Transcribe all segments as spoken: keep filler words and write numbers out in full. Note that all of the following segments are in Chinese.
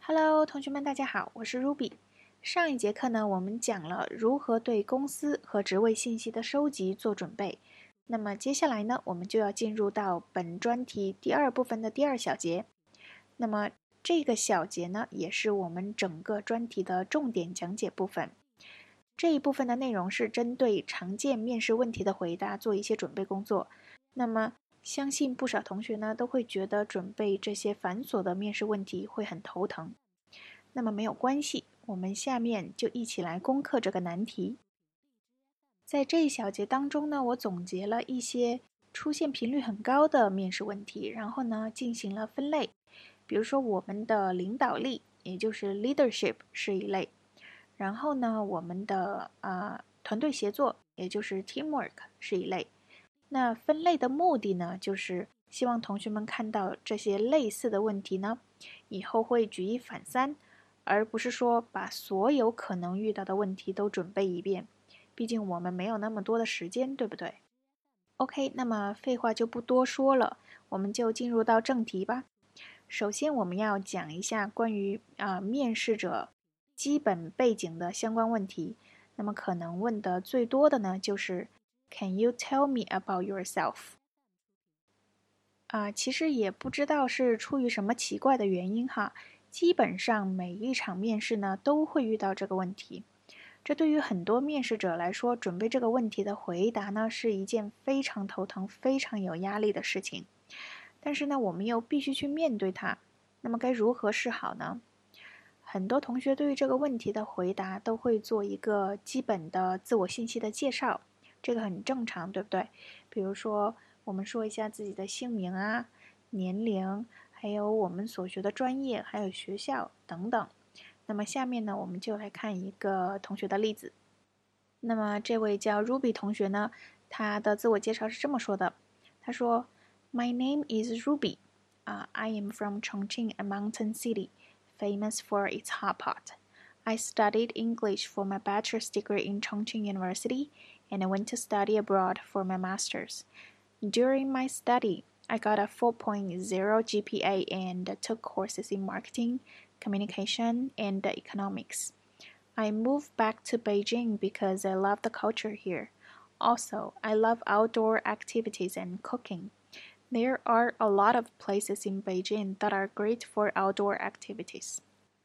Hello，同学们，大家好，我是 Ruby。上一节课呢，我们讲了如何对公司和职位信息的收集做准备。那么接下来呢，我们就要进入到本专题第二部分的第二小节。那么这个小节呢，也是我们整个专题的重点讲解部分。这一部分的内容是针对常见面试问题的回答做一些准备工作。那么相信不少同学呢都会觉得准备这些繁琐的面试问题会很头疼。那么没有关系，我们下面就一起来攻克这个难题。在这一小节当中呢，我总结了一些出现频率很高的面试问题，然后呢进行了分类。比如说我们的领导力，也就是 leadership 是一类。然后呢，我们的呃团队协作，也就是 teamwork 是一类。那分类的目的呢，就是希望同学们看到这些类似的问题呢，以后会举一反三，而不是说把所有可能遇到的问题都准备一遍。毕竟我们没有那么多的时间，对不对 ？OK， 那么废话就不多说了，我们就进入到正题吧。首先，我们要讲一下关于啊、呃、面试者基本背景的相关问题。那么可能问的最多的呢，就是 Can you tell me about yourself？ 啊、呃，其实也不知道是出于什么奇怪的原因哈，基本上每一场面试呢都会遇到这个问题。这对于很多面试者来说，准备这个问题的回答呢是一件非常头疼、非常有压力的事情。但是呢，我们又必须去面对它。那么该如何是好呢？很多同学对于这个问题的回答都会做一个基本的自我信息的介绍，这个很正常，对不对？比如说，我们说一下自己的姓名啊、年龄，还有我们所学的专业，还有学校等等。那么下面呢，我们就来看一个同学的例子。那么这位叫 Ruby 同学呢，他的自我介绍是这么说的：他说 ，My name is Ruby. Uh, I am from Chongqing, a mountain city, famous for its hot pot. I studied English for my bachelor's degree in Chongqing University, and I went to study abroad for my master's. During my study, I got a four point oh G P A and took courses in marketing, communication, and economics. I moved back to Beijing because I love the culture here. Also, I love outdoor activities and cooking. There are a lot of places in Beijing that are great for outdoor activities.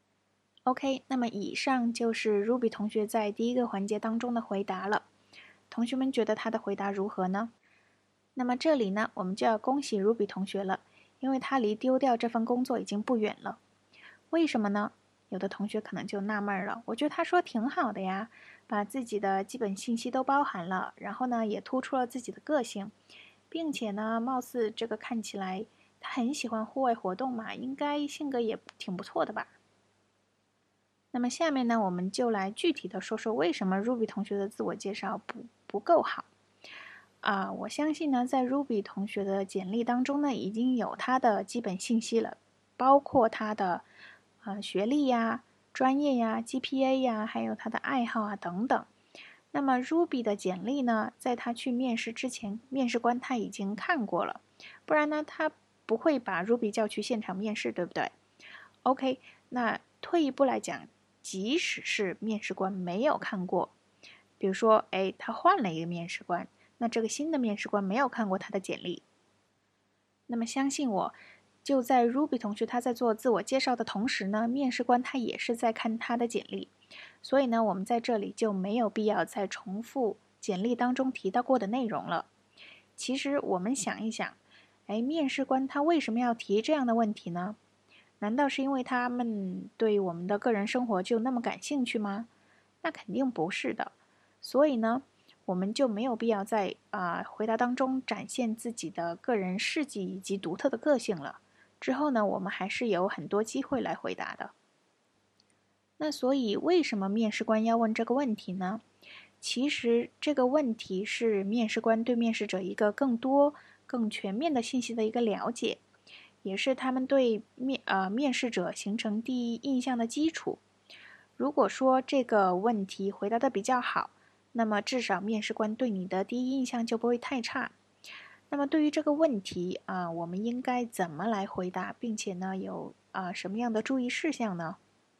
OK， 那么以上就是 Ruby 同学在第一个环节当中的回答了。同学们觉得他的回答如何呢？那么这里呢，我们就要恭喜 Ruby 同学了，因为他离丢掉这份工作已经不远了。为什么呢？有的同学可能就纳闷了，我觉得他说挺好的呀，把自己的基本信息都包含了，然后呢也突出了自己的个性，并且呢，貌似这个看起来他很喜欢户外活动嘛，应该性格也挺不错的吧。那么下面呢，我们就来具体的说说为什么 Ruby 同学的自我介绍不不够好。啊、呃，我相信呢，在 Ruby 同学的简历当中呢，已经有他的基本信息了，包括他的呃学历呀、专业呀、G P A 呀，还有他的爱好啊等等。那么 Ruby 的简历呢，在他去面试之前，面试官他已经看过了，不然呢，他不会把 Ruby 叫去现场面试，对不对 ？OK， 那退一步来讲，即使是面试官没有看过，比如说，哎，他换了一个面试官，那这个新的面试官没有看过他的简历，那么相信我，就在 Ruby 同学他在做自我介绍的同时呢，面试官他也是在看他的简历。所以呢，我们在这里就没有必要再重复简历当中提到过的内容了。其实我们想一想，哎，面试官他为什么要提这样的问题呢？难道是因为他们对我们的个人生活就那么感兴趣吗？那肯定不是的。所以呢，我们就没有必要在啊、呃、回答当中展现自己的个人事迹以及独特的个性了。之后呢，我们还是有很多机会来回答的。那所以，为什么面试官要问这个问题呢？其实，这个问题是面试官对面试者一个更多、更全面的信息的一个了解，也是他们对面呃面试者形成第一印象的基础。如果说这个问题回答的比较好，那么至少面试官对你的第一印象就不会太差。那么对于这个问题啊、呃，我们应该怎么来回答，并且呢有啊、呃、什么样的注意事项呢？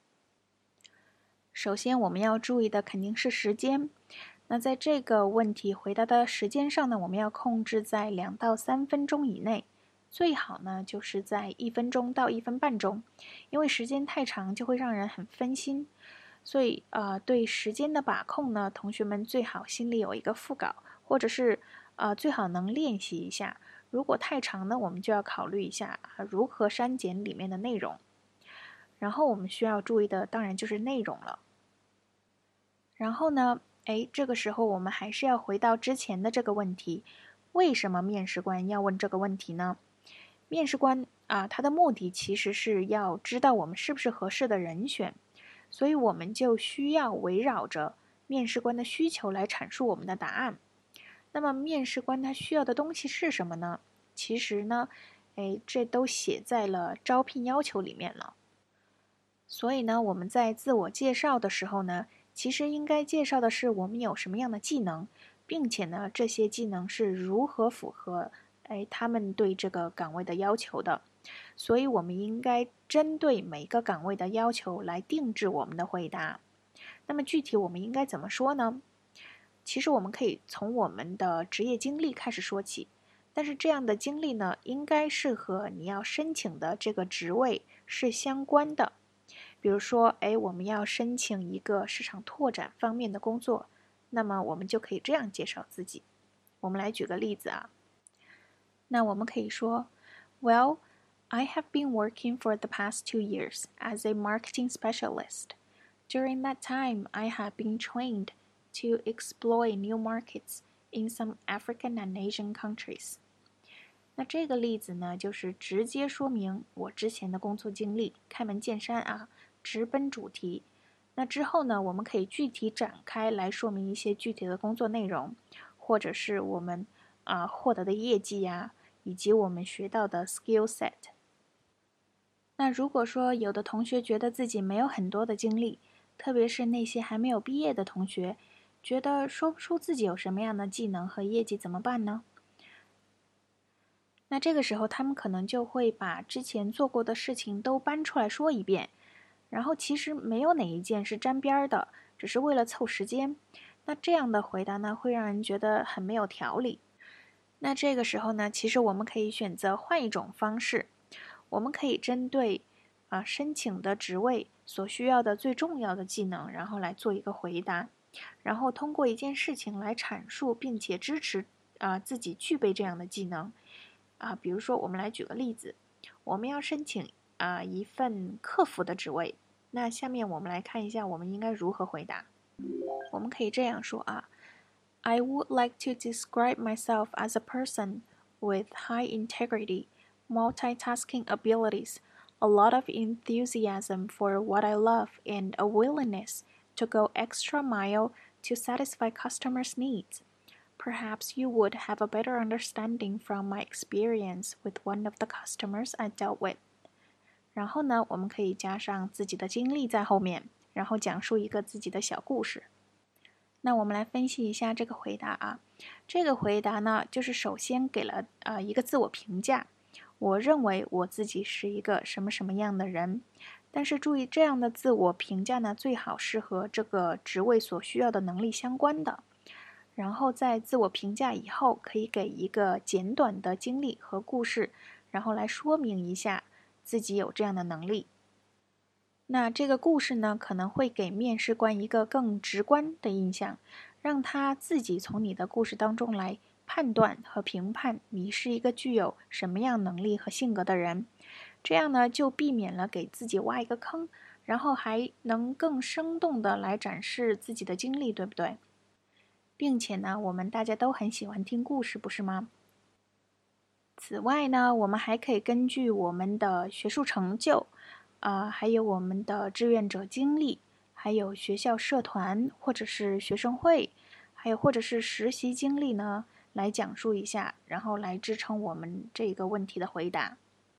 首先我们要注意的肯定是时间。那在这个问题回答的时间上呢，我们要控制在两到三分钟以内，最好呢就是在一分钟到一分半钟，因为时间太长就会让人很分心。所以呃，对时间的把控呢，同学们最好心里有一个副稿，或者是呃最好能练习一下。如果太长呢，我们就要考虑一下啊如何删减里面的内容。然后我们需要注意的当然就是内容了。然后呢，哎，这个时候我们还是要回到之前的这个问题，为什么面试官要问这个问题呢？面试官啊，他的目的其实是要知道我们是不是合适的人选，所以我们就需要围绕着面试官的需求来阐述我们的答案。那么面试官他需要的东西是什么呢？其实呢，哎，这都写在了招聘要求里面了。所以呢，我们在自我介绍的时候呢，其实应该介绍的是我们有什么样的技能，并且呢，这些技能是如何符合哎他们对这个岗位的要求的。所以我们应该针对每个岗位的要求来定制我们的回答。那么具体我们应该怎么说呢？其实我们可以从我们的职业经历开始说起，但是这样的经历呢，应该是和你要申请的这个职位是相关的。比如说，哎，我们要申请一个市场拓展方面的工作，那么我们就可以这样介绍自己。我们来举个例子啊，那我们可以说 ，Well, I have been working for the past two years as a marketing specialist. During that time, I have been trained to exploit new markets in some African and Asian countries. 那这个例子呢，就是直接说明我之前的工作经历，开门见山啊，直奔主题。那之后呢，我们可以具体展开来说明一些具体的工作内容，或者是我们啊、呃、获得的业绩呀、啊，以及我们学到的 skill set。那如果说有的同学觉得自己没有很多的经历，特别是那些还没有毕业的同学，觉得说不出自己有什么样的技能和业绩怎么办呢？那这个时候他们可能就会把之前做过的事情都搬出来说一遍，然后其实没有哪一件是沾边的，只是为了凑时间。那这样的回答呢，会让人觉得很没有条理。那这个时候呢，其实我们可以选择换一种方式，我们可以针对啊申请的职位所需要的最重要的技能，然后来做一个回答，然后通过一件事情来阐述，并且支持啊自己具备这样的技能。啊，比如说我们来举个例子，我们要申请啊一份客服的职位，那下面我们来看一下我们应该如何回答。我们可以这样说啊 I would like to describe myself as a person with high integrity, multitasking abilities, a lot of enthusiasm for what I love, and a willingness to go extra mile to satisfy customers' needs.Perhaps you would have a better understanding from my experience with one of the customers I dealt with. 然后呢，我们可以加上自己的经历在后面，然后讲述一个自己的小故事。那我们来分析一下这个回答啊。这个回答呢，就是首先给了呃一个自我评价。我认为我自己是一个什么什么样的人。但是注意，这样的自我评价呢，最好是和这个职位所需要的能力相关的。然后在自我评价以后，可以给一个简短的经历和故事，然后来说明一下自己有这样的能力。那这个故事呢，可能会给面试官一个更直观的印象，让他自己从你的故事当中来判断和评判你是一个具有什么样能力和性格的人。这样呢，就避免了给自己挖一个坑，然后还能更生动的来展示自己的经历，对不对？并且呢，我们大家都很喜欢听故事，不是吗？此外呢，我们还可以根据我们的学术成就，啊、呃，还有我们的志愿者经历，还有学校社团或者是学生会，还有或者是实习经历呢，来讲述一下，然后来支撑我们这个问题的回答。